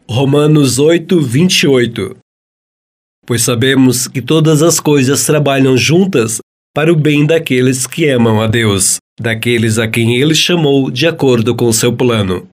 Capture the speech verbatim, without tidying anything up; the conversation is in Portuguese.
Romanos oito, vinte e oito. Pois sabemos que todas as coisas trabalham juntas para o bem daqueles que amam a Deus, daqueles a quem Ele chamou de acordo com seu plano.